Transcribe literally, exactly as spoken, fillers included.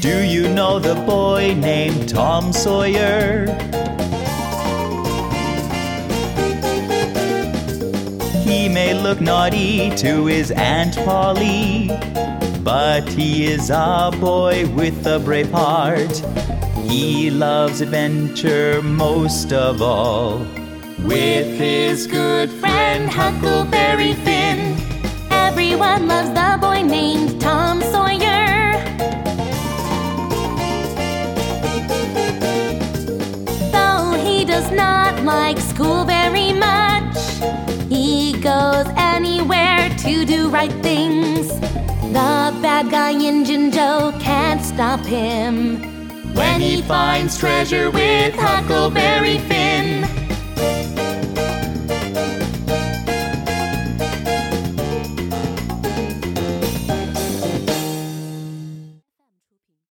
Do you know the boy named Tom Sawyer? He may look naughty to his Aunt Polly, but he is a boy with a brave heart. He loves adventure most of all. With his good friend Huckleberry Finn, everyone loves the boy named Tom Sawyer. Though he does not like school very much, he goes anywhere to do right things. The bad guy Injun Joe can't stop him when he finds treasure with Huckleberry Finn.